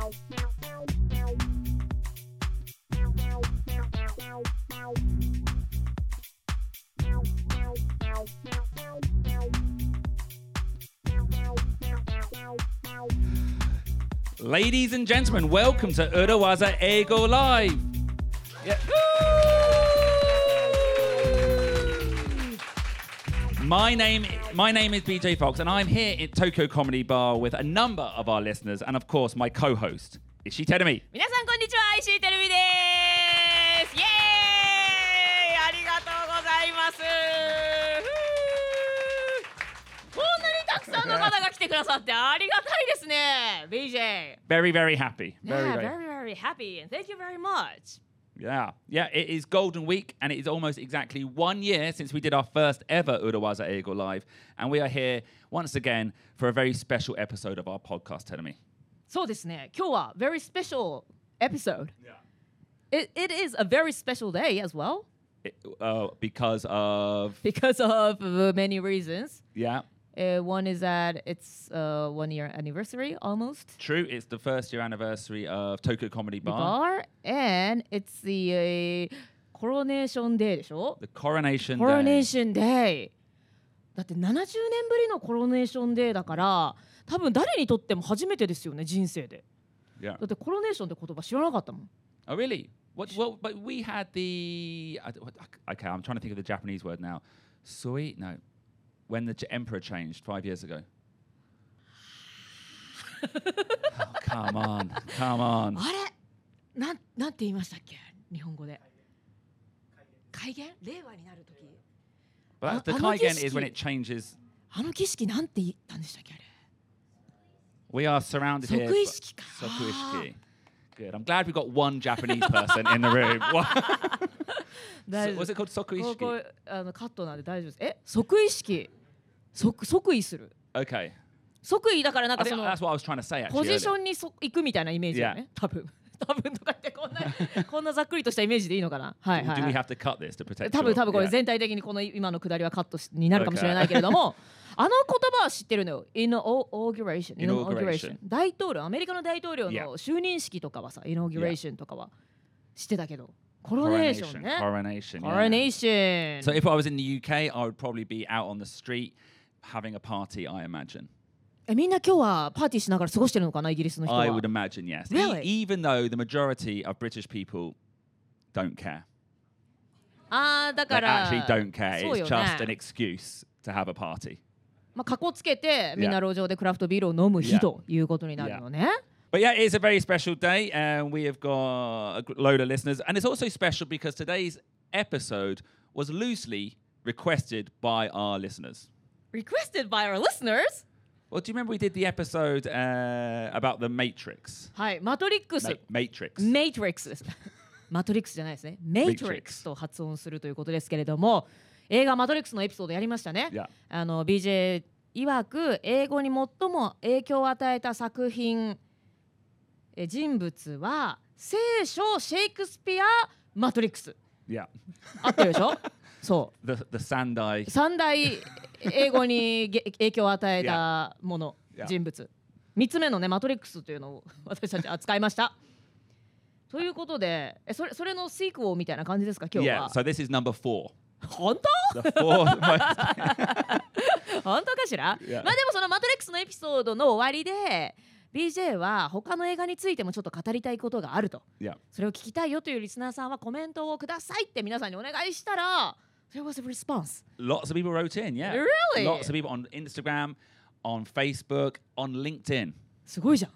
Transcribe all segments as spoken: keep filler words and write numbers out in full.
Ladies and gentlemen, welcome to Urawaza Eigo Live. Yeah. My name, my name is B J Fox, and I'm here at Tokyo Comedy Bar with a number of our listeners, and of course, my co-host, Ishii Terumi. 皆さんこんにちは、石井てるみです。イエーイ、ありがとうございます。こんなにたくさんの方が来てくださってありがたいですね、ビージェー。 Very, very happy. Very, Yeah, very, very, very happy, and thank you very much. Yeah, yeah. It is Golden Week, and it is almost exactly one year since we did our first ever Urawaza Eigo Live, and we are here once again for a very special episode of our podcast. Terumi. そうですね、今日は very special episode. Yeah. It, it is a very special day as well. It, uh, because of Because of uh, many reasons. yeah. Uh, one is that it's uh, one year anniversary almost. True, it's the first year anniversary of Tokyo Comedy The Bar. bar, and it's the uh, coronation day でしょ？ The Coronation Day. Coronation Day. だってななじゅうねんぶりのコロネーションデーだから多分誰にとっても初めてですよね、人生で。 Yeah. だってコロネーションって言葉知らなかったもん。 Oh, really? What? Well, but we had the. I, what, okay, I'm trying to think of the Japanese word now. Sui? No. When the ch- emperor changed five years ago. Oh, come on, come on. あれなん、なんて言いましたっけ日本語で。改元令和になるとき。 But the あ、あの儀 Kaigen 式 is when it changes. あの儀式なんて言ったんでしたっけあれ。 We are surrounded here. 即位式か。 Sokuishiki. Good. I'm glad we've got one Japanese person in the room. What? 大 So, 丈夫 was it called こ Sokuishiki? こあのカットなんで大丈夫です。え、即位式、即即位する。 Okay. 即位だからなん I か think その that's what I was trying to say ポ actually. ジショ earlier. ンにそ行くみたいなイメージよね。多分多分とかってこんなこんなざっくりとしたイメージでいいのかな。はいはい、 Do は we い。 have to cut this to protect? 多分 your- 多分これ yeah. 全体的にこの今のくだりはカットしになるかもしれないけれども、あの言葉は知ってるのよ。Inauguration。Inauguration。大統領、アメリカの大統領 Yeah. の就任式とかはさ、Inauguration とかは知ってたけど、コロネーションね。 Coronation. yeah. Coronation。 So if I was in the U K, I would probably be out on the street having a party, I imagine. え、みんな今日はパーティーしながら過ごしてるのかな、イギリスの人は。 I would imagine, yes. Really? E- even though the majority of British people don't care. あーだ They から actually don't care. そうよ It's ね just an excuse to have a party. まあ、かこつけてみんな路上でクラフトビールを飲む日 Yeah. ということになるのね。 But yeah, it's a very special day, and we have got a g- load of listeners. And it's also special because today's episode was loosely requested by our listeners. Requested by our listeners? Well, do you remember we did the episode uh, about the Matrix? はい、マトリックス。 Ma- Matrix. メイトリックスです。マトリックスじゃないですね。メイトリックスと発音するということですけれども、映画マトリックスのエピソードやりましたね。 Yeah. あの ビージェー 曰く英語に最も影響を与えた作品、え人物は聖書、シェイクスピア、マトリックス。 Yeah. 合ってるでしょそ The the Sandai. う。三大英語にげ影響を与えたもの、 Yeah. 人物。三つ目のね、マトリックスというのを私たち扱いました。ということで、えそれそれのシークオみたいな感じですか、今日 Yeah. は。 So this is number four. 本当 The four most. 本当かしら、 Yeah. まあでもそのマトリックスのエピソードの終わりで ビージェー は他の映画についてもちょっと語りたいことがあると Yeah. それを聞きたいよというリスナーさんはコメントをくださいって皆さんにお願いしたら There was a response. Lots of people wrote in. Yeah. Really? Lots of people on Instagram, on Facebook, on LinkedIn. すごいじゃん。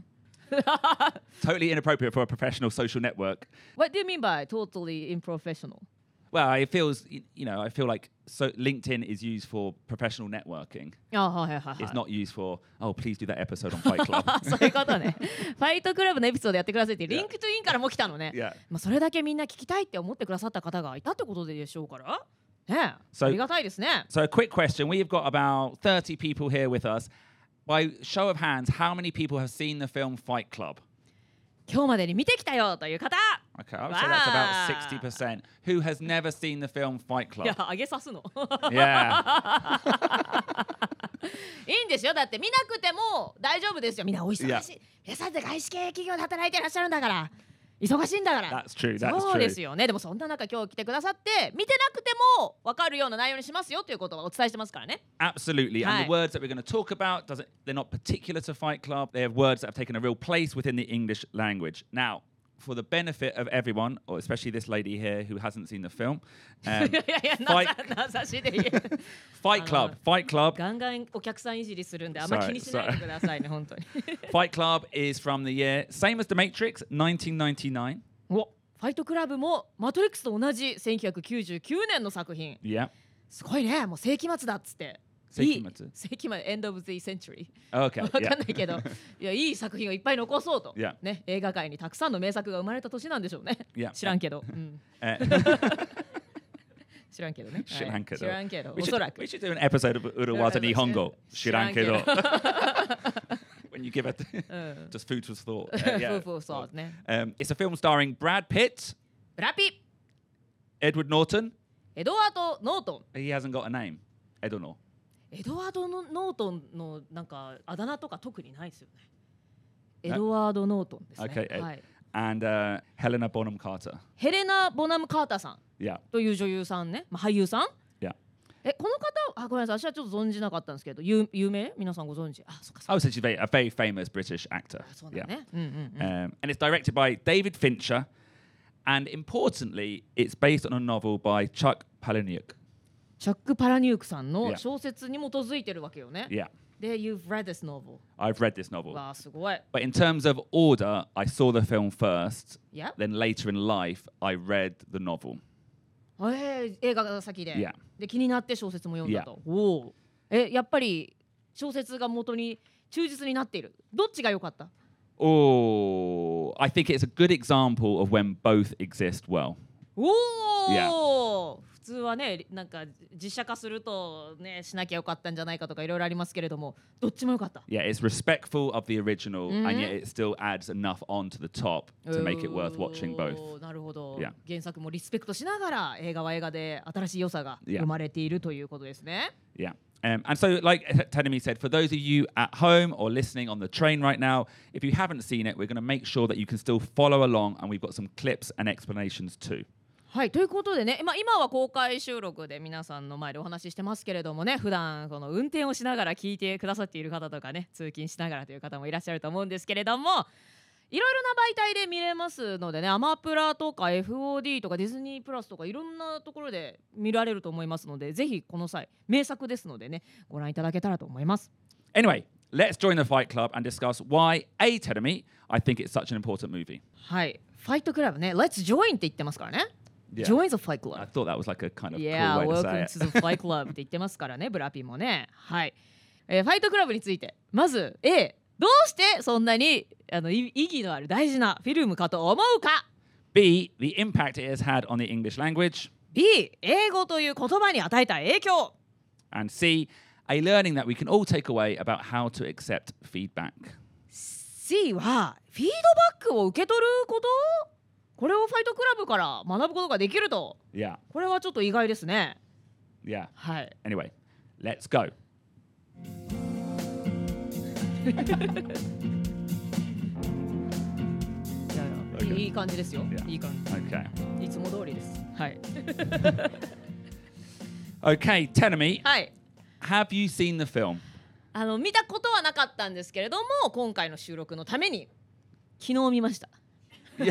Totally inappropriate for a professional social network. What do you mean by totally unprofessional? Well, it feels, y- you know, I feel like so LinkedIn is used for professional networking. あはいはいはい、はい It's not used for, oh, please do that episode on Fight Club. そういうことね。ファイトクラブのエピソードやってくださいってリンクトゥインからも来たのね。 Yeah. まあそれだけみんな聞きたいって思ってくださった方がいたってことでしょうからね。 So- ありがたいですね。 So, a quick question. We've got about thirty people here with us. By show of hands, how many people have seen the film Fight Club? 今日までに見てきたよという方。 Okay, I would say that's about Wow. sixty percent. Who has never seen the film Fight いや Club? 上げさすの。 Yeah. いいんですよ。だって見なくても大丈夫ですよ。みんなお忙しい。 Yeah. 皆さんって外資系企業で働いていらっしゃるんだから。忙しいんだから。 That's true. That's そうで true. すよね。でもそんな中今日来てくださって見てなくても分かるような内容にしますよということをお伝えしてますからね。 Absolutely. And the words that we're going to talk about, doesn't, they're not particular to Fight Club. They have words that have taken a real place within the English language. Now, for the benefit of everyone, or especially this lady here who hasn't seen the film, um, いやいや、 Fight, なさしで言え。 Fight Club, Fight Club, ガンガンお客さんいじりするんであんま気にしないでくださいね、本当に。 Fight Club is from the year, same as The Matrix, nineteen ninety-nine. お、ファイトクラブもマトリックスと同じせんきゅうひゃくきゅうじゅうきゅうねんの作品。 Yeah. すごいね、もう世紀末だっつって。 世紀末？ 世紀末、End of the Century。 Okay. わかんないけど、いや、いい作品をいっぱい残そうと。 Yeah. ね、映画界にたくさんの名作が生まれた年なんでしょうね。 Yeah. 知らんけど。うん、 Uh, 知らんけどね。 知らんけど。 知らんけど。 we, お should, そらく。 we should do an episode of Urawaza Nihongo. 知らんけど。When you give it just food for thought. Uh, yeah. Food for thought ね。 Um, it's a film starring Brad Pitt, ブラピ、 Edward Norton. エドワード・ノートン。 He hasn't got a name. Edward. エドワードのノートンのなんかあだ名とか特にないですよね。エドワード・ノートンですね。 Okay. はい、 And uh, Helena Bonham Carter. ヘレナ・ボナム・カーターさん Yeah. という女優さんね、まあ、俳優さん。 Yeah. え、この方、あ、ごめんなさい、私はちょっと存じなかったんですけど、有有名？皆さんご存知？あ、そっかそっか。 Oh, so she's very, a very famous British actor. そうだ Yeah. ね。うんうんうん。 Um, and it's directed by David Fincher. And importantly, it's based on a novel by Chuck Palahniuk. チャック・パラニュークさんの Yeah. 小説に基づいてるわけよね。 Yeah. で、You've read this novel。 I've read this novel. わあ、すごい。 But in terms of order, I saw the film first. Yeah. Then later in life, I read the novel. えー、映画が先で、 Yeah. で気になって小説も読んだと。おお。え、やっぱり小説が元に忠実になっている。どっちが良かった？ Oh, I think it's a good example of when both exist well. おお、 Yeah. 普通はね、なんか実写化するとね、しなきゃよかったんじゃないかとかいろいろありますけれども、どっちも良かった。 Yeah, it's respectful of the original, Mhm. and yet it still adds enough onto the top to make it worth watching お both. ーなるほど。 Yeah. 原作もリスペクトしながら映画は映画で新しい良さが Yeah. 生まれているということですね。 Yeah. Um, and so, like Tadami said, for those of you at home or listening on the train right now, if you haven't seen it, we're going to make sure that you can still follow along, and we've got some clips and explanations too. はい、ということでね、まあ、今は公開収録で皆さんの前でお話ししてますけれどもね、普段この運転をしながら聞いてくださっている方とかね、通勤しながらという方もいらっしゃると思うんですけれども、いろいろな媒体で見れますのでね、アマプラとか エフオーディー とかディズニープラスとかいろんなところで見られると思いますので、ぜひこの際名作ですのでね、ご覧いただけたらと思います。 Anyway, let's join the Fight Club and discuss why, A, Tadami, I think it's such an important movie. はい、ファイトクラブね、Let's join って言ってますからね。 Yeah. Join the Fight Club. I thought that was like a kind of Yeah, cool way to welcome say to it. the Fight Club って言ってますからね、ブラピもね。はい。えーファイトクラブについて、まず A、どうしてそんなにあのい意義のある大事なフィルムかと思うか。 B, the impact it has had on the English language. B、英語という言葉に与えた影響。 And C, a learning that we can all take away about how to accept feedback. C はフィードバックを受け取ること。これをファイトクラブから学ぶことができると。 Yeah, これはちょっと意外ですね。 yeah. はい。 Anyway, let's go. いやいや Okay. いい感じですよ。 Yeah. いい感 Okay. じ。いつも通りです。はい。 Okay, Tenemy, はい。 have you seen the film? あの見たことはなかったんですけれども、今回の収録のために昨日見ました。昨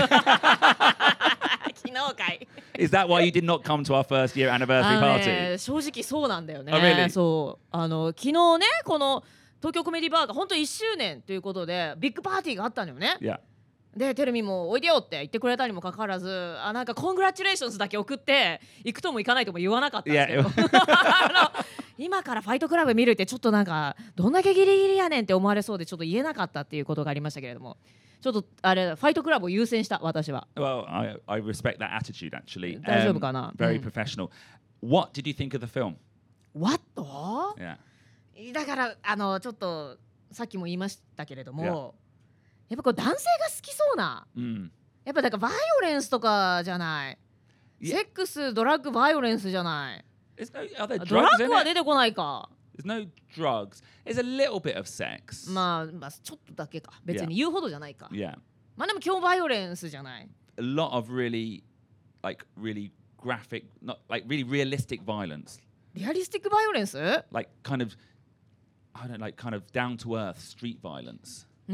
日かい。 Is that why you did not come to our first year anniversary あの party? ね、正直そうなんだよね。 Oh, really? そうあの昨日ね、この東京コメディバーが本当いっしゅうねんということでビッグパーティーがあったのよね。 Yeah. でテレビもおいでよって言ってくれたにもかかわらず、あなんかコングラチュレーションズだけ送って行くとも行かないとも言わなかったんですけど、 Yeah. あの今からファイトクラブ見るってちょっとなんかどんだけギリギリやねんって思われそうでちょっと言えなかったっていうことがありましたけれども、ちょっとあれファイトクラブを優先した私は。 Well, I, I respect that attitude actually. 大丈夫かな？ very うん。 professional. What did you think of the film? What？ Yeah. だからあのちょっとさっきも言いましたけれども、 Yeah. やっぱこう男性が好きそうな、 Mm. やっぱだからバイオレンスとかじゃない、 Yeah. セックスドラッグバイオレンスじゃない、 Is, are there ドラ drugs ッ in グは it? 出てこないか。 There's no drugs. There's a little bit of sex. まあ、まあ、ちょっとだけか。別に言うほどじゃないか。 Yeah. まあでも今日バイオレンスじゃない。 A lot of really, like, really graphic, not like really realistic violence. リアリスティックバイオレンス Like, kind of, I don't know, like, kind of down to earth street violence. うん。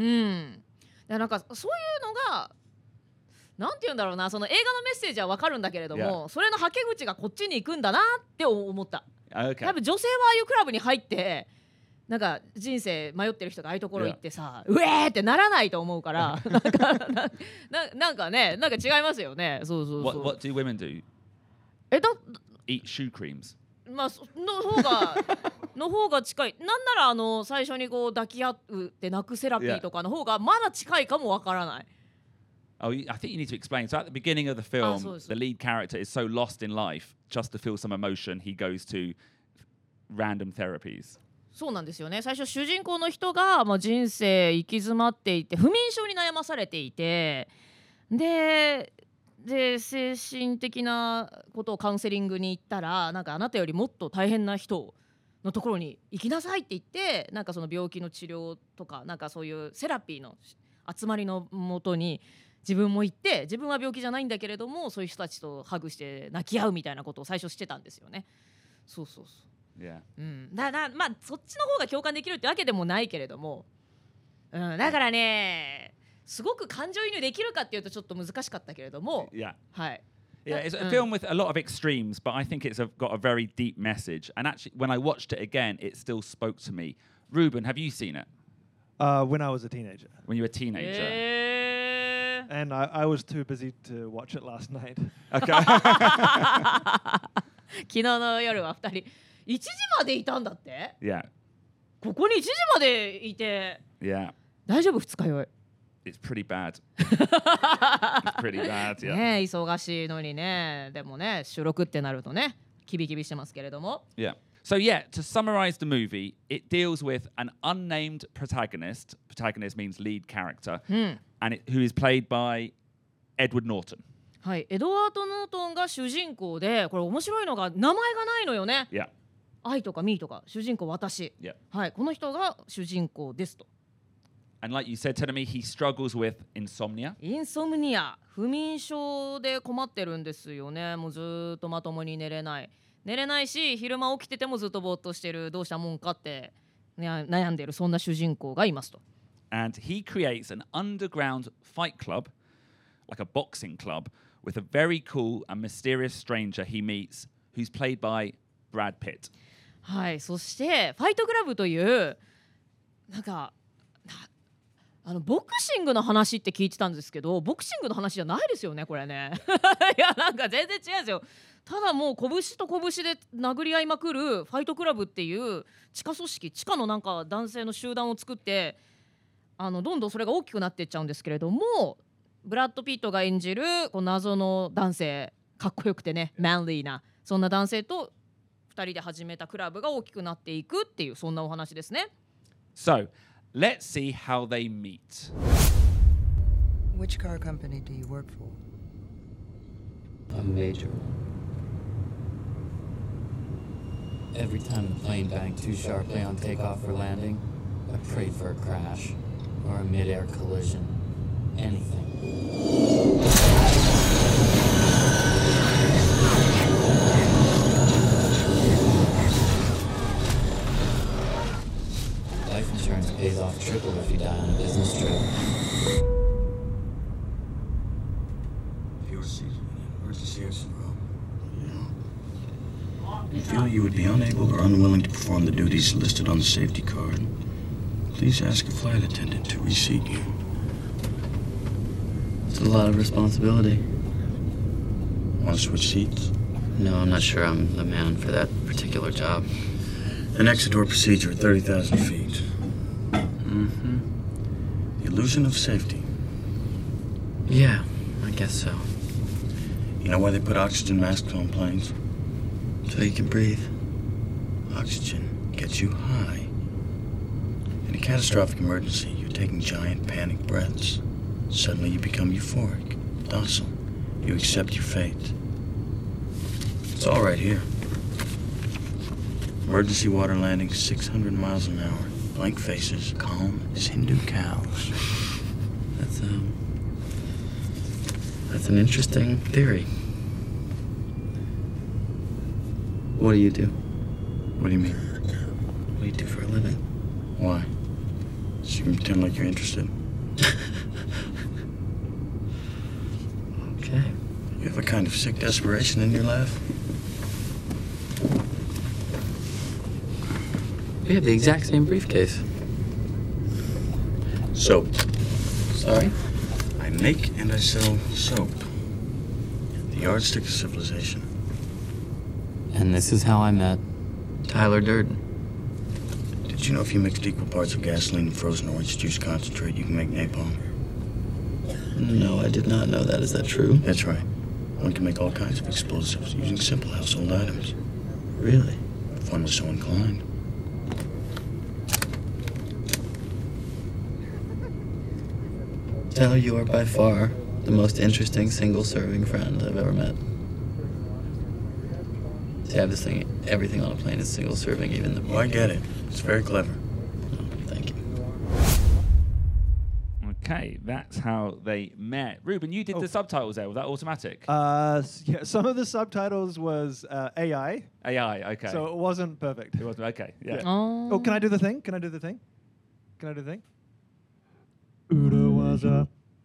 なんかそういうのが、なんて言うんだろうな、その映画のメッセージは分かるんだけれども、 Yeah. それのはけ口がこっちに行くんだなって思った。 Okay. 多分女性はああいうクラブに入って、なんか人生迷ってる人がああいうところ行ってさ、うえーってならないと思うから、なんか な, な, なんかね、なんか違いますよね。そうそうそう。 What, what do women do? えだ Eat shoe creams. まあの方がの方が近い。なんならあの最初にこう抱き合うって泣くセラピーとかの方がまだ近いかもわからない。 Oh, I think you need to explain. So at the beginning of the film, so- so- the lead character is so lost in life, just to feel some emotion, he goes to random therapies. そうなんですよね。最初主人公の人が、まあ、人生行き詰まっていて不眠症に悩まされていて、でで精神的なことをカウンセリングに行ったら、なんかあなたよりもっと大変な人のところに行きなさいって言って、なんかその病気の治療とか、なんかそういうセラピーの集まりのもとに自分も行って、自分は病気じゃないんだけれどもそういう人たちとハグして泣き合うみたいなことを最初してたんですよね。そうそうそう。 Yeah. うん、だだまあそっちの方が共感できるってわけでもないけれども、うん、だからね、すごく感情移入できるかっていうとちょっと難しかったけれども、 Yeah. はい。 Yeah, it's a Mm. film with a lot of extremes, but I think it's a, got a very deep message. And actually, when I watched it again, it still spoke to me. Ruben, have you seen it? Uh, when I was a teenager. When you were a teenager? えー、 And I, I was too busy to watch it last night. Okay. 昨日の夜はふたりいちじまでいたんだって。 Yeah. ここにいちじまでいて Yeah. 大丈夫？二日酔い。 It's pretty bad. It's pretty bad, yeah. ねえ、忙しいのにね。でもね、収録ってなるとね、キビキビしてますけれども。 Yeah. So yeah, to summarize the movie, it deals with an unnamed protagonist. Protagonist means lead character, うん。 and it, who is played by Edward Norton. はい、エドワード・ノートンが主人公で、これ面白いのが名前がないのよね。 Yeah. 愛とかミーとか主人公私、 Yeah. はい、この人が主人公ですと。 And like you said, Tedemi, he struggles with insomnia. インソムニア、不眠症で困ってるんですよね。もうずーっとまともに寝れない寝れないし、昼間起きててもずっとぼーっとしてる、どうしたもんかって、ね、悩んでる、そんな主人公がいますと。 And he creates an underground fight club, like a boxing club, with a very cool and mysterious stranger he meets, who's played by Brad Pitt. はい、そしてファイトクラブというなんかなあのボクシングの話って聞いてたんですけど、ボクシングの話じゃないですよねこれね。いやなんか全然違うんですよ。ただもう拳と拳で殴り合いまくるファイトクラブっていう地下組織、地下のなんか男性の集団を作って、あのどんどんそれが大きくなっていっちゃうんですけれども、ブラッド・ピットが演じるこう謎の男性、かっこよくてねマンリーなそんな男性とふたりで始めたクラブが大きくなっていくっていう、そんなお話ですね。 So, let's see how they meet. Which car company do you work for? A major. Every time the plane banked too sharply on takeoff or landing, I prayed for a crash or a mid-air collision. Anything. Life insurance pays off triple if you die on a business trip. Your emergency syndrome. You feel you would be unable or unwilling to perform the duties listed on the safety card, please ask a flight attendant to reseat you. It's a lot of responsibility. Want to switch seats? No, I'm not sure I'm the man for that particular job. An exit door procedure at thirty thousand feet. Mm-hmm. The illusion of safety. Yeah, I guess so. You know why they put oxygen masks on planes? So you can breathe. Oxygen gets you high. In a catastrophic emergency, you're taking giant panic breaths. Suddenly you become euphoric, docile. You accept your fate. It's all right here. Emergency water landing six hundred miles an hour. Blank faces, calm as Hindu cows. That's, um... That's an interesting theory. What do you do? What do you mean? What do you do for a living? Why? So you can pretend like you're interested. Okay. You have a kind of sick desperation in your laugh. We have the exact same briefcase. Soap. Sorry? I make and I sell soap. The yardstick of civilization. And this is how I met Tyler Durden. Did you know if you mixed equal parts of gasoline and frozen orange juice concentrate, you can make napalm? No, I did not know that. Is that true? That's right. One can make all kinds of explosives using simple household items. Really? If one was so inclined. Tyler, you are by far the most interesting single-serving friend I've ever met. See, I have this thing, everything on a plane is single-serving, even the... Oh, I get it. It's very clever. Oh, thank you. Okay, that's how they met. Ruben, you did Oh. the subtitles there. Was that automatic? Uh, s- yeah, some of the subtitles was uh, A I, A I, okay. so it wasn't perfect. it was okay. Yeah. Yeah. あー Oh, can I do the thing? Can I do the thing? Can I do the thing? Urawaza.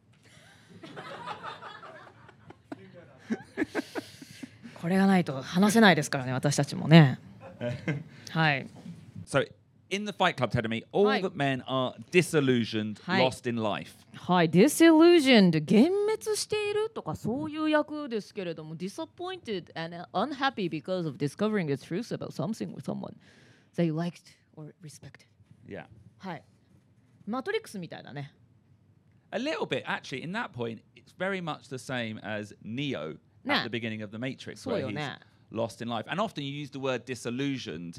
これがないと話せないですからね、私たちもね。はい。 So, in the Fight Club, Tedemi, all Hi. the men are disillusioned, Hi. lost in life. はい、disillusioned 幻滅しているとかそういう役ですけれども disappointed and unhappy because of discovering the truth about something with someone they liked or respected. Yeah. はい。マトリックスみたいだね。 A little bit, actually, in that point, it's very much the same as Neo Nah. at the beginning of The Matrix, So where you're he's nah. lost in life. And often you use the word disillusioned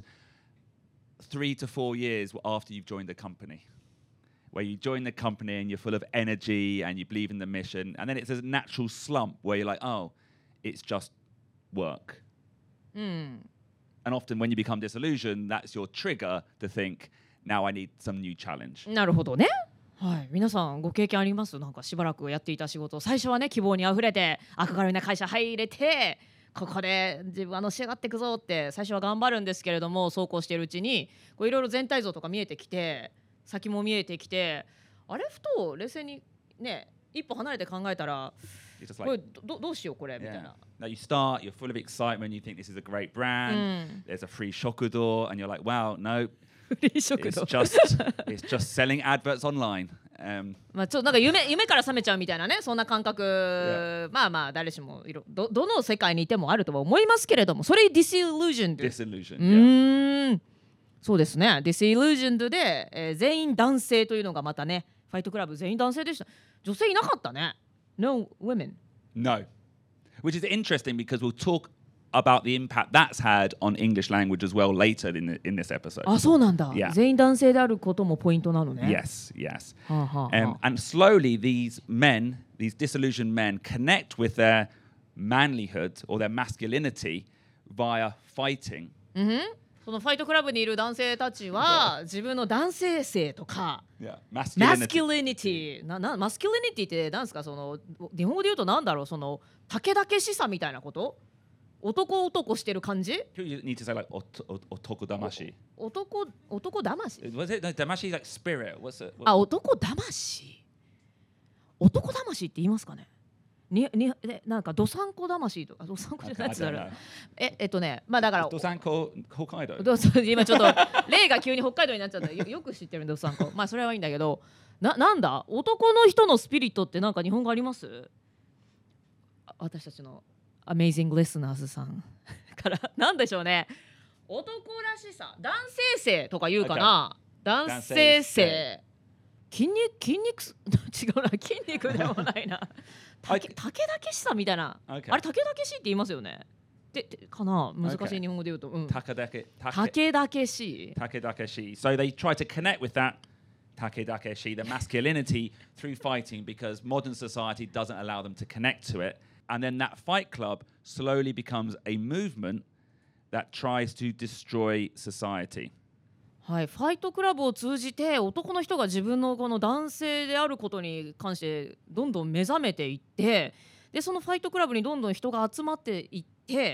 three to four years after you've joined the company, where you join the company and you're full of energy and you believe in the mission. And then it's a natural slump where you're like, oh, it's just work. うん。 And often when you become disillusioned, that's your trigger to think, now I need some new challenge. なるほどね。はい、皆さんご経験あります？なんかしばらくやっていた仕事、最初はね希望にあふれて憧れな会社入れて、ここで自分はのし上がっていくぞって最初は頑張るんですけれども、そうこうしているうちにこういろいろ全体像とか見えてきて、先も見えてきて、あれふと冷静にね一歩離れて考えたら、 You're just これ like, どどうしようこれみたい yeah. な。 Now you start, you're full of excitement, you think this is a great brand, there's a free shokudo, and you're like, wow, no, フリー食 it's 堂。 just it's just selling adverts online. Um, まあちょっとなんか夢夢から覚めちゃうみたいなね、そんな感覚、まあまあ誰しもいろどどの世界にいてもあるとは思いますけれども、それ disillusioned。 disillusioned. う Yeah. ーん、そうですね。disillusioned で、えー全員男性というのがまたね、ファイトクラブ全員男性でした。女性いなかったね。No women。 No, which is interesting because we'll talk about the impact that's had on English language as well later in the, in this episode. あ、そうなんだ。 Yeah. 全員男性であることもポイントなのね。 Yes, yes. はあはあはあ Um, and slowly, these men, these disillusioned men, connect with their manlyhood or their masculinity via fighting. そのファイトクラブにいる男性たちは自分の男性性とか Yeah, マ masculinity. スキュリニティななマスキュリニティって何ですか、その日本語で言うとなんだろう、その武々しさみたいなこと、男男してる感じ、 You need to say like ot- ot- otoko-damashi. 男男魂 Was it no, damashi is like spirit? What's it? What, あ、男魂男魂って言いますかね、ににえなんかどさんこ魂とか、どさんこじゃない I やつだ don't ろ know. ええっとね、まあだから Dosanko Hokkaido. どうそう今ちょっと例が急に北海道になっちゃった。よよく知ってるんだどさんこ。まあそれはいいんだけど、ななんだ男の人のスピリットってなんか日本語あります？あ私たちのアメイジングリスナーズさんからなんでしょうね。男らしさ、男性性とか言うかな。男性性。筋肉筋肉す違うな、筋肉でもないな。たけたけだけしさみたいな。 Okay. あれたけだけしって言いますよね。ででかな、難しい日本語で言うと。うん。 Takadake. た Take, けだけし。 takedakeshi. So they try to connect with that takedakeshi, the masculinity, through fighting because modern society doesn't allow them to connect to it. And then that fight club slowly becomes a movement that tries to destroy society. はい、ファイトクラブを通じて男の人が自分のこの男性であることに関してどんどん目覚めていって、でそのファイトクラブにどんどん人が集まっていって、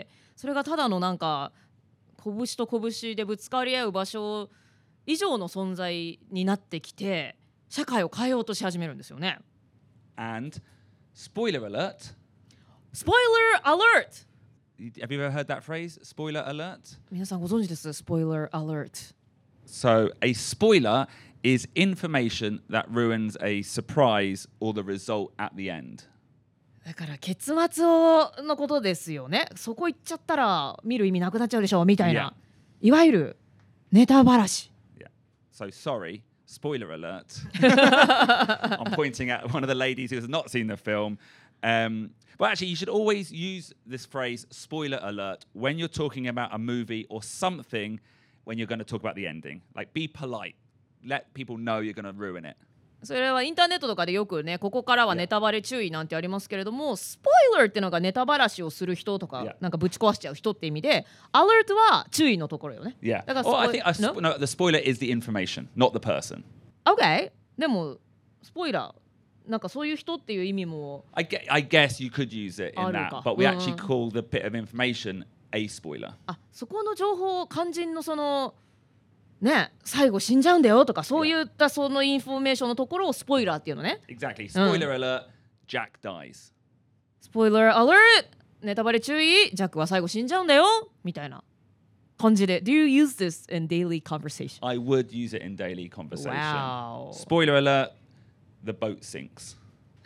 それがただのなんか拳と拳でぶつかり合う場所以上の存在になってきて、社会を変えようとし始めるんですよね。 And spoiler alert. Spoiler alert! Have you ever heard that phrase? Spoiler alert? 皆さんご存知です？ Spoiler alert. So a spoiler is information that ruins a surprise or the result at the end. だから結末をのことですよね。そこ行っちゃったら見る意味なくなっちゃうでしょみたいな、いわゆるネタばらし。 Yeah. So sorry, spoiler alert. I'm pointing at one of the ladies who has not seen the film. Um, but actually, you should always use this phrase, spoiler alert, when you're talking about a movie or something when you're going to talk about the ending. Like, be polite. Let people know you're going to ruin it. それはインターネットとかでよくね、ここからはネタバレ注意なんてありますけれども、スポイラーっていうのがネタばらしをする人とか、 Yeah. なんかぶち壊しちゃう人って意味で、アラートは注意のところよね。 Yeah. だから Or I スポイ think a spo- no? no, the spoiler is the information, not the person. Okay. でもスポイラーなんかそういう人っていう意味も I, gue- I guess you could use it in that, Aruka. but we Mm. actually call the bit of information a spoiler. あ、そこの情報を肝心のそのね、最後死んじゃうんだよとかそういったそのインフォメーションのところをスポイラーっていうのね。 Exactly. Spoiler alert, Jack dies. スポイラーアラート、ネタバレ注意、ジャックは最後死んじゃうんだよみたいな感じで。 Do you use this in daily conversation? I would use it in daily conversation. Wow. Spoiler alert, the boat sinks.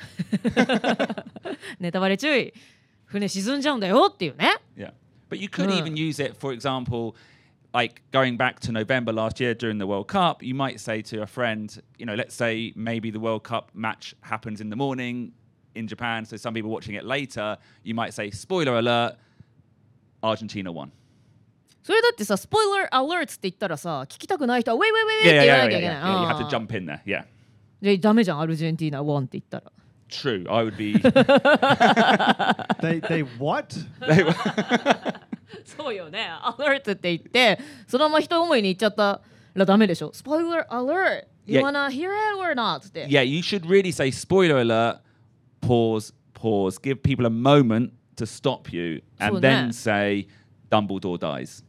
ネタバレ注意、船沈んじゃうんだよっていうね。 Yeah. But you could Mm. even use it, for example, like going back to November last year during the World Cup, you might say to a friend, you know, let's say maybe the World Cup match happens in the morning in Japan, so some people watching it later, you might say, spoiler alert, Argentina won. それだってさ、スポイラーアラートって言ったらさ、聞きたくない人はウェイウェイウェイウェイ Yeah, って yeah, 言わ yeah, なきゃ yeah, いけ yeah. ない。 yeah. You have あ to ー jump in there, yeah. でダメじゃん、アルジェンティーナワンって言ったら。 True, I would be... They they what? そうよね、アラートって言ってそのまま一思いに言っちゃったらダメでしょ。スポイラーアラート You Yeah. wanna hear it or not? って。 Yeah, you should really say, spoiler alert, pause, pause, give people a moment to stop you, and So then that- say, Dumbledore dies.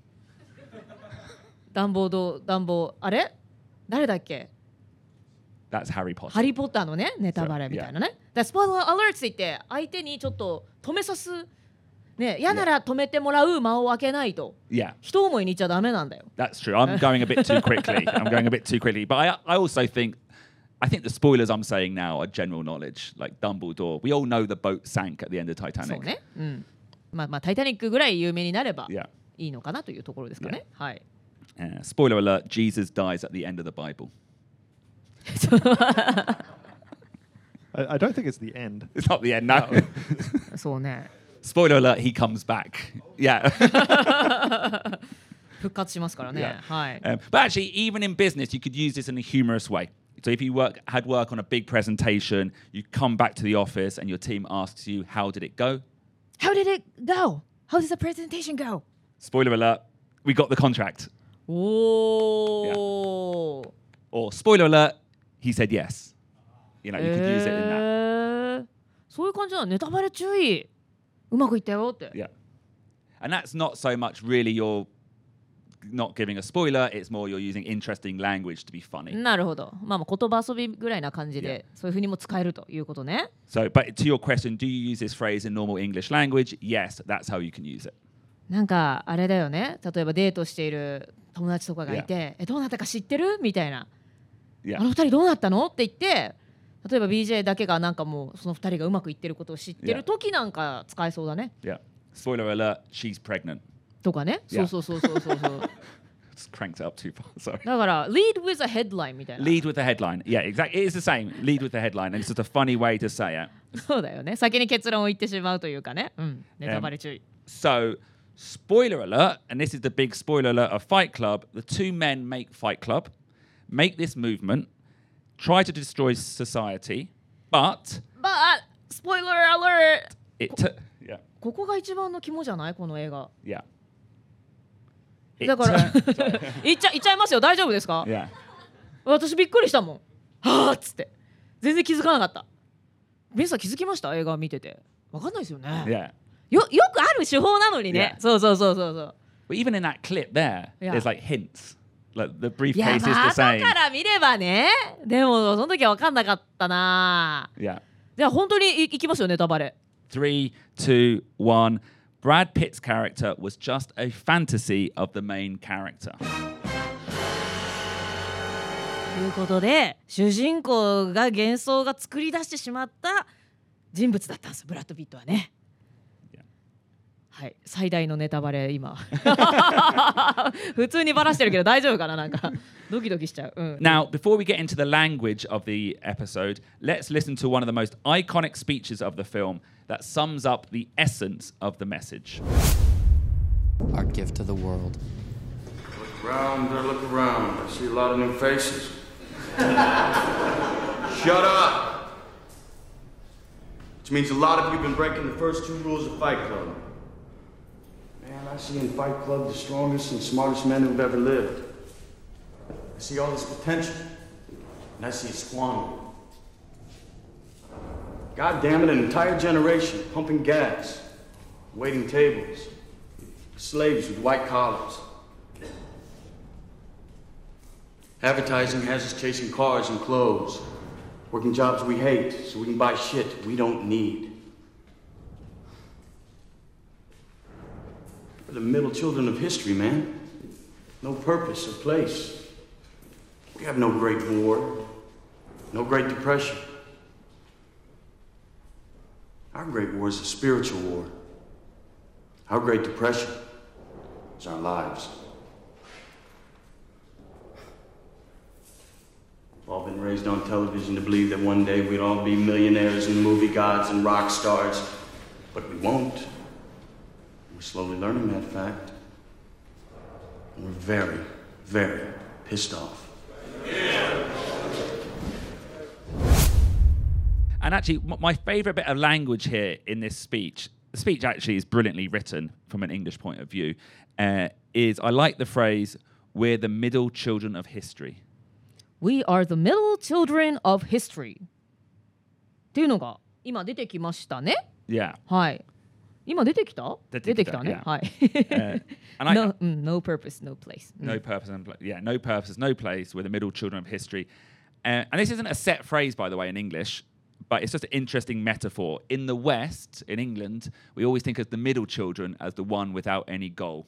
ダンボードダンボーあれ誰だっけ、 That's Harry Potter. ハリー・ポッターのねネタバレみたいなね。だからスポイラーアラートって言って相手にちょっと止めさすね、嫌なら止めてもらう間を空けないと Yeah, 一思いに言っちゃダメなんだよ。 that's true. I'm going a bit too quickly. I'm going a bit too quickly. But I, I also think, I think the spoilers I'm saying now are general knowledge, like Dumbledore. We all know the boat sank at the end of そう Titanic. ね、うん、まあまあタイタニックぐらい有名になれば Yeah. いいのかなというところですかね。はい。 Uh, spoiler alert, Jesus dies at the end of the Bible. I, I don't think it's the end. It's not the end now. そうね。 Spoiler alert, he comes back. Yeah. 復活しますからね。 Yeah. はい。 Um, but actually, even in business, you could use this in a humorous way. So if you work, had work on a big presentation, you come back to the office and your team asks you, how did it go? How did it go? How did the presentation go? Spoiler alert, we got the contract. おー。 Or spoiler alert, he said yes. You know, you could use it in that. えーそういう感じなの。ネタバレ注意。うまくいったよって。 Yeah. And that's not so much really you're not giving a spoiler, it's more you're using interesting language to be funny. なるほど。まあまあ言葉遊びぐらいな感じで、そういうふうにも使えるということね。 So, but to your question, do you use this phrase in normal English language? Yes, that's how you can use it. なんかあれだよね。例えばデートしている友達とかがいて、えどうなったか知ってるみたいな。 Yeah. あの二人どうなったのって言って、例えば ビージェー だけがなんかもうその二人がうまくいってることを知ってる時なんか使えそうだね。 Yeah. Spoiler alert, she's pregnant. とかね。そうそうそうそうそうそう。 Just cranked it up too far. Sorry. だから lead with a headline みたいな。 Lead with the headline. Yeah, exactly. It is the same. Lead with the headline. And it's just a funny way to say it. そうだよね。先に結論を言ってしまうというかね。うん。ネタバレ注意。 So, spoiler alert, and this is the big spoiler alert of Fight Club. The two men make Fight Club, make this movement, try to destroy society, but But spoiler alert! it. T- yeah, ここが一番の肝じゃないこの映画。 yeah. It だから turn- 言っちゃ言っちゃいますよ。大丈夫ですか？ yeah. 私びっくりしたもん。はあっつって全然気づかなかった。皆さん気づきました？映画見ててわかんないですよね。 Yeah. よよくある手法なのにね。 Yeah. そうそうそうそうそう。 But even in that clip there, Yeah. there's like hints. Like the いや briefcase is まあ the 後 same. から見ればね。でもその時は分かんなかったな。 Yeah. じゃあ本当にいいきますよネタバレ。 Three, two, one. Brad Pitt's character was just a fantasy of the main character. ということで主人公が幻想が作り出してしまった人物だったんですブラッド・ピットはね。 Yeah. はい最大のネタバレ今普通にバラしてるけど大丈夫かななんかドキドキしちゃう、うん、 Now, before we get into the language of the episode, let's listen to one of the most iconic speeches of the film that sums up the essence of the message. Our gift to the world. Look around, there, look around. I see a lot of new faces. Shut up! Which means a lot of you have been breaking the first two rules of Fight Club. Man, I see in Fight Club the strongest and smartest men who've ever lived. I see all this potential, and I see it squandered. God damn it, an entire generation pumping gas, waiting tables, slaves with white collars. Advertising has us chasing cars and clothes, working jobs we hate so we can buy shit we don't need. We're the middle children of history, man. No purpose or place. We have no great war, no great depression. Our great war is a spiritual war. Our great depression is our lives. We've all been raised on television to believe that one day we'd all be millionaires and movie gods and rock stars, but we won't. We're slowly learning that fact. And we're very, very pissed off. And actually, m- my favourite bit of language here in this speech, the speech actually is brilliantly written from an English point of view, uh, is I like the phrase, we're the middle children of history. We are the middle children of history っていうのが今出てきましたね。 Yeah. はい今出てきた出てきた出てきたね、 yeah. はい、 Uh, and I, no, うん no purpose, no place、うん no purpose, and pla- yeah, no purpose, no place. We're the middle children of history. Uh, and this isn't a set phrase, by the way, in English, but it's just an interesting metaphor. In the West, in England, we always think of the middle children as the one without any goal.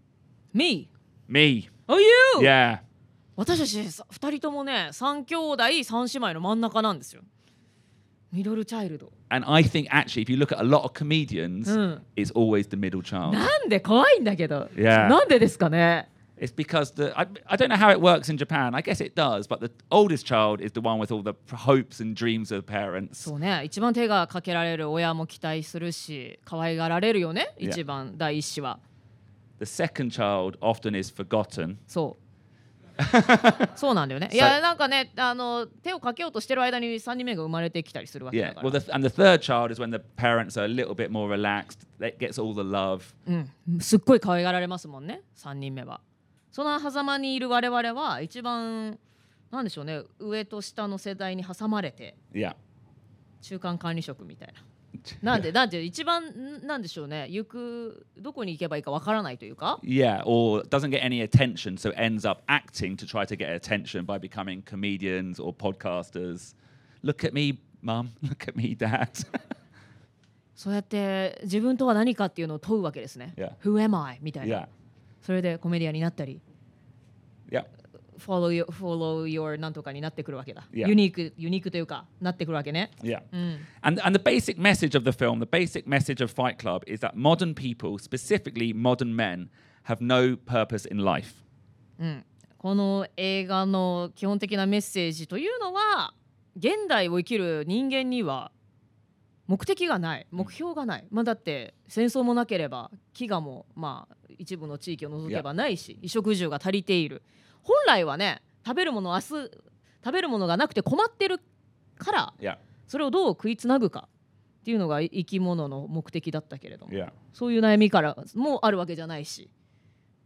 Me? Me. Oh, you? Yeah. 私たちさふたりともねさん兄弟さん姉妹の真ん中なんですよ。ミドルチャイルド。 And I think actually, if you look at a lot of comedians, Mm. it's always the middle child. なんで怖いんだけど。 Yeah. なんでですかね。 It's because the I, I don't know how it works in Japan. I guess it does, but the oldest child is the one with all the hopes and dreams of parents. そうね一番手がかけられる親も期待するし可愛がられるよね Yeah. 一番第一子は。 The second child often is forgotten. そう。そうなんだよね。いやなんかねあの手をかけようとしてる間にさんにんめが生まれてきたりするわけだ Yeah. から。 Well, the, and the third child is when the parents are a little bit more relaxed. That gets all the love. うん、すっごい可愛がられますもんねさんにんめは。その狭間にいる我々は一番なんでしょうね上と下の世代に挟まれて Yeah. 中間管理職みたいな。なんでなんで一番なんでしょうね行くどこに行けばいいかわからないというか。 Yeah, or doesn't get any attention, so ends up acting to try to get attention by becoming comedians or podcasters. Look at me, mum. Look at me, dad. そうやって自分とは何かっていうのを問うわけですね。 Yeah. Who am I? みたいな。 Yeah. それでコメディアンになったり、 Yeah. follow your, follow your なんとかになってくるわけだ。 Yeah. ユニークユニークというかなってくるわけね。 Yeah. うん。 And, and the basic message of the film, the basic message of Fight Club is that modern people, specifically modern men, have no purpose in life. うん、この映画の基本的なメッセージというのは現代を生きる人間には目的がない目標がない、まあ、だって戦争もなければ飢餓もまあ一部の地域を除けばないし、衣食住が足りている。本来はね食べるもの明日食べるものがなくて困ってるから Yeah. それをどう食いつなぐかっていうのが生き物の目的だったけれども、 Yeah. そういう悩みからもあるわけじゃないし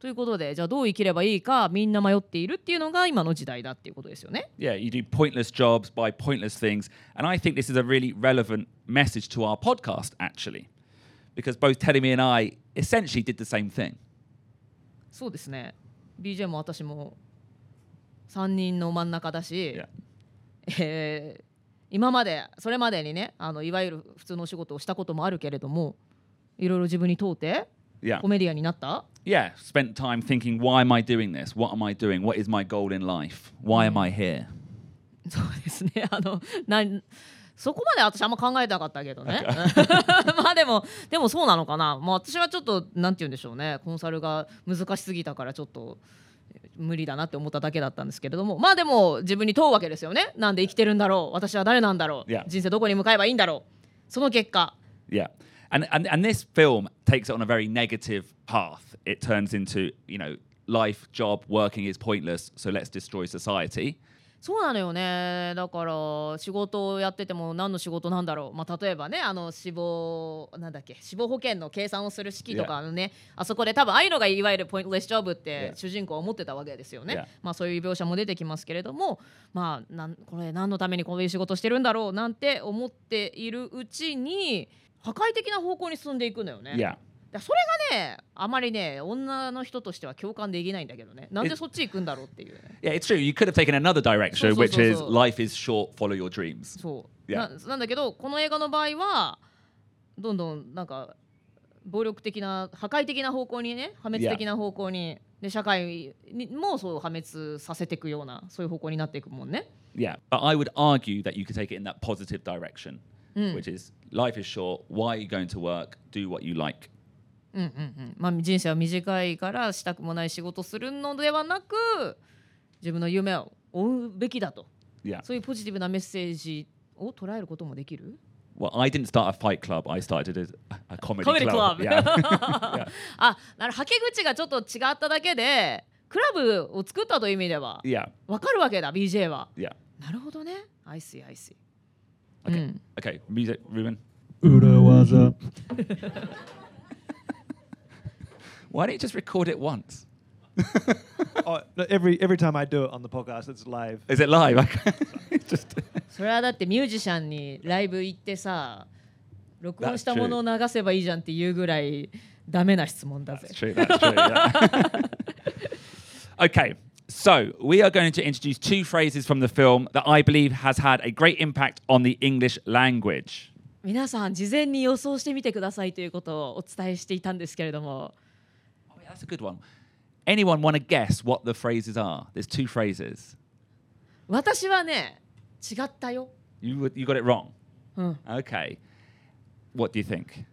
ということで、じゃあどう生きればいいかみんな迷っているっていうのが今の時代だっていうことですよね。 Yeah, you do pointless jobs, buy pointless things. And I think this is a really relevant message to our podcast, actually. Because both Teddy and I essentially did the same thing. そうですね。ビージェー も私もさんにんの真ん中だし、 Yeah. えー今までそれまでにね、あのいわゆる普通のお仕事をしたこともあるけれども、いろいろ自分に問うて Yeah. コメディアンになった。 Yeah, spent time thinking, why am I doing this? What am I doing? What is my goal in life? Why am I here? そうですね。あのなんそこまで私あんま考えてなかったけどね。まあでもでもそうなのかな。まあ私はちょっとなんて言うんでしょうね。コンサルが難しすぎたからちょっと無理だなって思っただけだったんですけれども、まあでも自分に問うわけですよね。なんで生きてるんだろう。私は誰なんだろう。 Yeah. 人生どこに向かえばいいんだろう。その結果。 Yeah. And, and and this film takes it on a very negative path. It turns into, you know, life, job, working is pointless, so let's destroy society. そうなのよね。だから仕事をやってても何の仕事なんだろう。まあ例えばね、あの死亡なんだっけ、死亡保険の計算をする式とかのね、yeah. あそこで多分ああいうのがいわゆるポイントレスジョブって主人公は思ってたわけですよね。 Yeah. まあそういう描写も出てきますけれども、まあなんこれ何のためにこういう仕事してるんだろうなんて思っているうちに破壊的な方向に進んでいくのよね。 Yeah. それがね、あまりね、女の人としては共感できないんだけどね。なんでそっち行くんだろうっていう、ね。 Yeah, it's true. You could have taken another direction, which is life is short, follow your dreams. そう。 Yeah. な, なんだけど、この映画の場合はどんどんなんか暴力的な破壊的な方向にね、破滅的な方向に、で社会にもそう破滅させていくようなそういう方向になっていくもんね。 Yeah, but I would argue that you could take it in that positive direction, うん、 which is life is short. Why are you going to work? Do what you like. うんうんうん。まあ人生は短いからしたくもない仕事するのではなく、自分の夢を追うべきだと。 Yeah. そういうポジティブなメッセージを捉えることもできる。 Well, I didn't start a fight club. I started a, a comedy, comedy club. club. Yeah. Yeah. あ、なるはけ口がちょっと違っただけで、クラブを作ったという意味では、 Yeah. わかるわけだ、ビージェー は。 Yeah. なるほどね。I see, I see. Okay. うん、 Okay. Music, Ruben. Urawaza. Why don't you just record it once? Oh, no, every every time I do it on the podcast, it's live. Is it live? Okay. just それはだってミュージシャンにライブ行ってさ、録音したものを流せばいいじゃんっていうぐらいダメな質問だぜ。 That's true. That's true. Yeah. Okay. So we are going to introduce two phrases from the film that I believe has had a great impact on the English language. 皆さん事前に予想してみてくださいということをお伝えしていたんですけれども。 Oh, yeah, that's a good one. Anyone want to guess what the phrases are? There's two phrases. 私はね、違ったよ。 You you got it wrong. うん。 Okay. What do you think?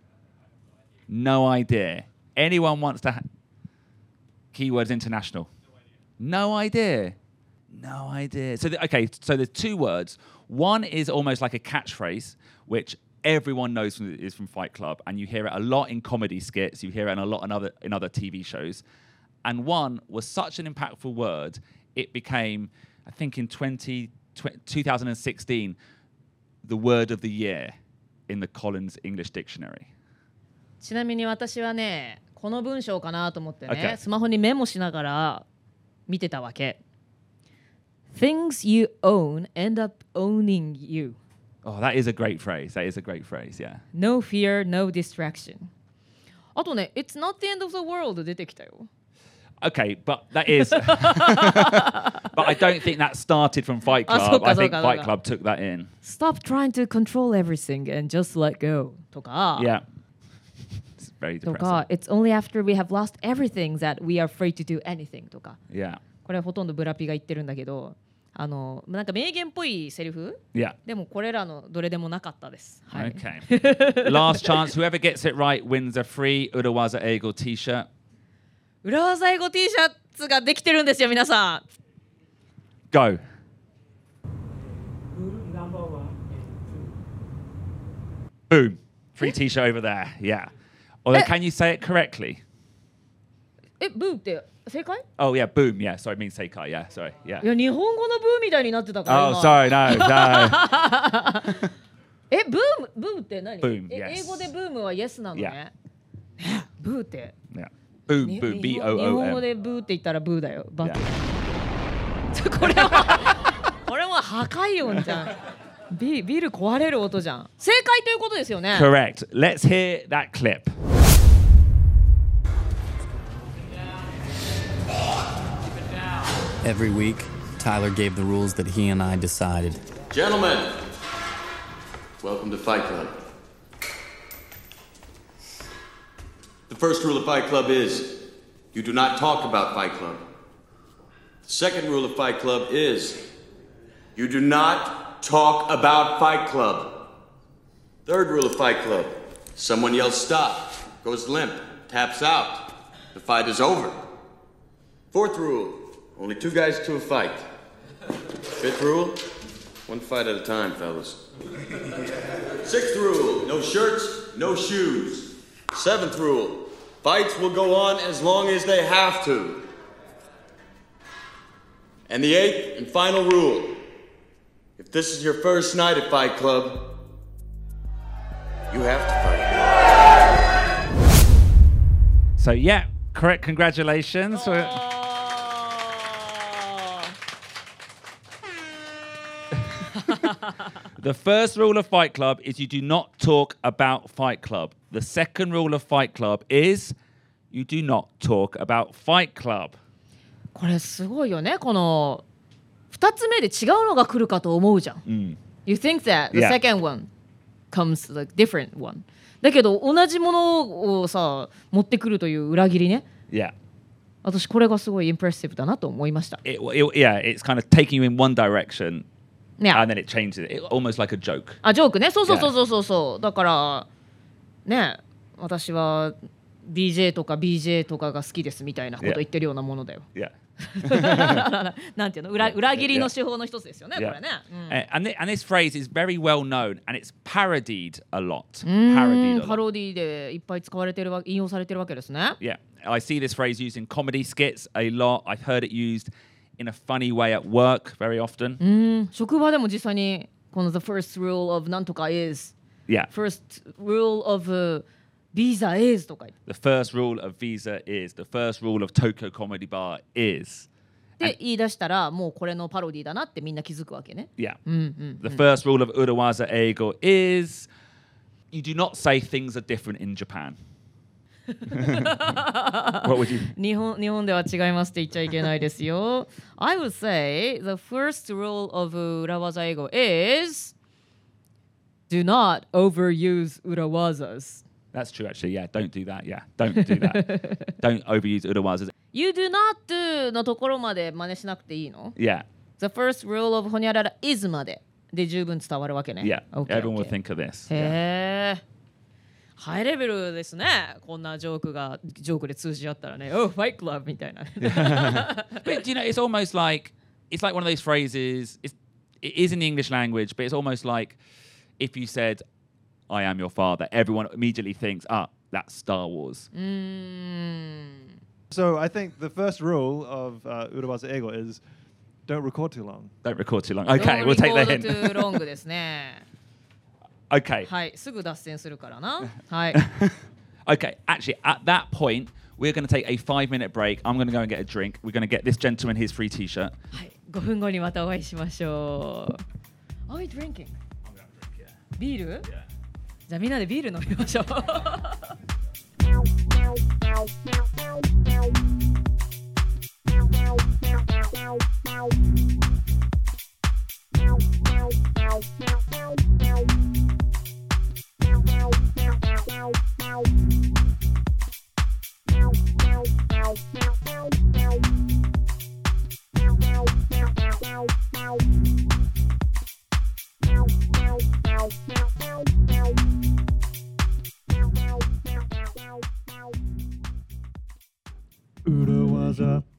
No idea. Anyone wants to ha- keywords international? No idea. No idea. So the, okay, so there's two words. One is almost like a catchphrase, which everyone knows from, is from Fight Club, and you hear it a lot in comedy skits. You hear it a lot in other in other T V shows. And one was such an impactful word, it became, I think, in twenty, twenty sixteen, the word of the year in the Collins English Dictionary. ちなみに私はね、この文章かなと思ってね、 Okay. スマホにメモしながら見てたわけ。Things you own end up owning you. Oh, that is a great phrase. That is a great phrase, yeah. No fear, no distraction. あとね、It's not the end of the world 出てきたよ。 Okay, but that is. But I don't think that started from Fight Club. Ah, so ka, I so think ka, so Fight ka. Club took that in. Stop trying to control everything and just let go とか。 Yeah. It's very と depressing. か、It's only after we have lost everything that we are afraid to do anything とか。 Yeah. これはほとんどブラピが言ってるんだけど、あのなんか名言っぽいセリフ Yeah. でもこれらのどれでもなかったです。はい。 Okay. Last chance. Whoever gets it right wins a free Urawaza Eagle t-shirt. 裏技英語 T シャツができてるんですよ、皆さん。 Go. Boom. Free t-shirt over there. Yeah. Although, Eh. can you say it correctly? え、ブーって正解？ Oh, yeah. Boom. Yeah. Sorry. It means Seikai. Yeah. Sorry. Yeah. いや、日本語のブーみたいになってたから。 Oh, 今 sorry. No. No. え、ブーム、ブーって何？ Boom, え yes. 英語でブームは yes なのね。えブーって。 Yeah. Boom, に boom, 日 B 本 O 日 O 本語 M. でブーって言ったらブーだよ。バ Yeah. これはこれは破壊音じゃん。ビビル壊れる音じゃん。正解ということですよね。 Correct. Let's hear that clip. Every week, Tyler gave the rules that he and I decided. Gentlemen, welcome to Fight Club. The first rule of Fight Club is you do not talk about Fight Club. The second rule of Fight Club is you do not talk about Fight Club. Third rule of Fight Club, someone yells stop, goes limp, taps out. The fight is over. Fourth rule, only two guys to a fight. Fifth rule, one fight at a time, fellas. Sixth rule, no shirts, no shoes. Seventh rule, fights will go on as long as they have to. And the eighth and final rule, if this is your first night at Fight Club, you have to fight. So, yeah, correct. Congratulations. The first rule of Fight Club is you do not talk about Fight Club. The second rule of Fight Club is you do not talk about Fight Club. これすごいよね。このふたつめで違うのが来るかと思うじゃん。 Mm. You think that the Yeah. second one comes like different one. だけど同じものをさ持ってくるという裏切りね。 Yeah. 私これがすごいインプレッシブだなと思いました。 It, it, yeah, it's kind of taking you in one direction ね。 and then it changes it. It almost like a joke. あ、ジョークね。そうそうそうそうそうそう。だからね、私は ディージェー とか ビージェー とかが好きですみたいなこと言ってるようなものだよ。 Yeah. なんていうの、裏裏切りの手法の一つですよね、 Yeah. これね。うん Uh, and, thi- and this phrase is very well known and it's parodied a lot. うー Parodied ん a パ lot. ロディでいっぱい使われてるわ引用されてるわけですね。 Yeah. I see this phrase used in comedy skits a lot. I've heard it used in a funny way at work very often. うーん職場でも実際にこの The first rule of なんとか is Yeah. first rule of、uh, visa is とか言って The first rule of Visa is, the first rule of Tokyo Comedy Bar is. で言い出したらもうこれのパロディだなってみんな気づくわけね。 Yeah. うんうん。 The first rule of Urawaza Eigo is you do not say things are different in Japan. What would you? 日本日本では違いますって言っちゃいけないですよ。I would say the first rule of 裏技英語 is do not overuse 裏技s. That's true, actually. Yeah, don't do that. Yeah, don't do that. Don't overuse Urawazas. You do not do のところまで真似しなくていいの Yeah, ?The first rule of ほにゃらら is までで十分伝わるわけね。 yeah. Okay, Everyone will okay. think of this. へえ。ハイレベルですね。こんなジョークがジョークで通じ合ったらね、Oh, Fight Club みたいな。 But you know, it's almost like it's like one of those phrases. It's, it is in the English language, but it's almost like if you said, "I am your father," everyone immediately thinks, "Ah, that's Star Wars." うーん。 So I think the first rule of uh, Urawaza Ego is don't record too long. Don't record too long. Okay, we'll take the Don't record hint. too long ですね。 Okay, はい、すぐ脱線するからな。はい。 okay. Actually, at that point, we're going to take a five-minute break. I'm going to go and get a drink. We're going to get this gentleman his free T-shirt. はい、ごふんごにまたお会いしましょう。Are we drinking? ビール？じゃあみんなでビール飲みましょう。 Urawaza